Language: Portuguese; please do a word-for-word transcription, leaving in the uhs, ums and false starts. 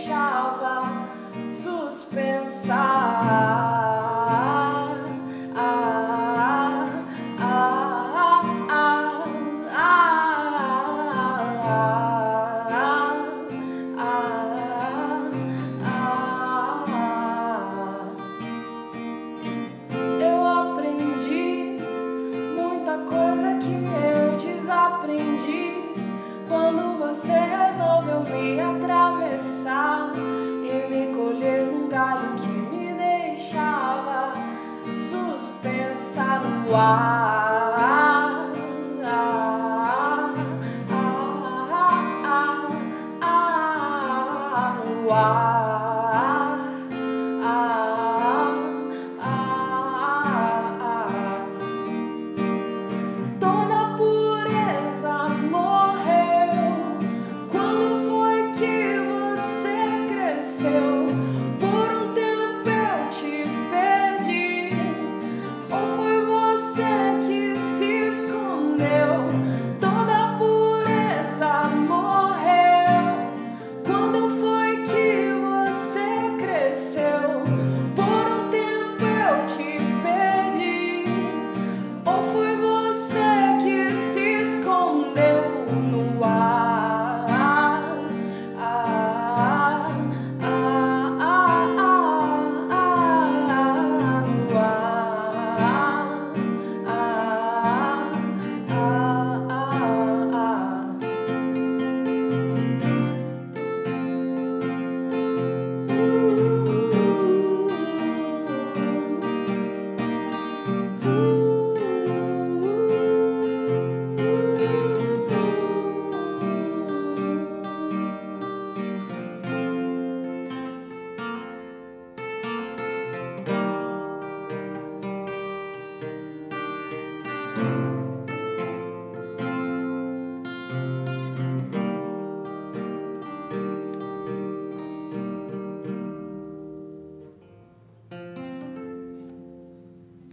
deixava suspensa. Ah, ah, ah, ah, ah, ah, ah. Eu aprendi muita coisa que eu desaprendi quando você resolveu me atravessar e me colher num galho que me deixava suspensa no ar. Ah, ah, ah, ah, ah, no ar.